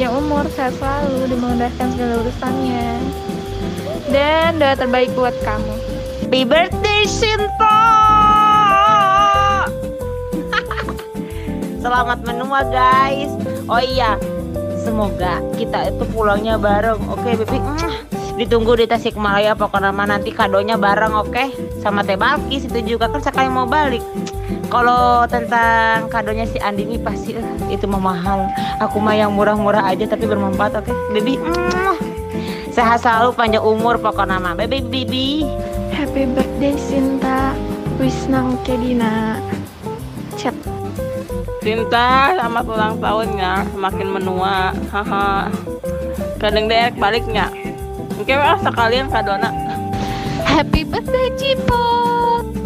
panjang umur, sehat selalu, dan memudahkan segala urusannya. Dan doa terbaik buat kamu. Happy birthday Sinta. Selamat menua guys. Oh iya, semoga kita itu pulangnya bareng. Oke Bibi, ditunggu di Tasikmalaya. Pokoknya nanti kadonya bareng, oke? Sama Teh Balkis itu juga kan sekali mau balik. Kalau tentang kadonya si Andi ini pasti itu mah mahal. Aku mah yang murah-murah aja tapi bermanfaat, oke? Bibi, sehat selalu, panjang umur pokoknya mah. Bibi, Bibi. Happy birthday Sinta. Wisnang Kedina. Chat. Sinta, selamat ulang tahunnya, semakin menua. Haha. Kadang dek baliknya. Oke, sekalian kadona. Happy birthday Cipot.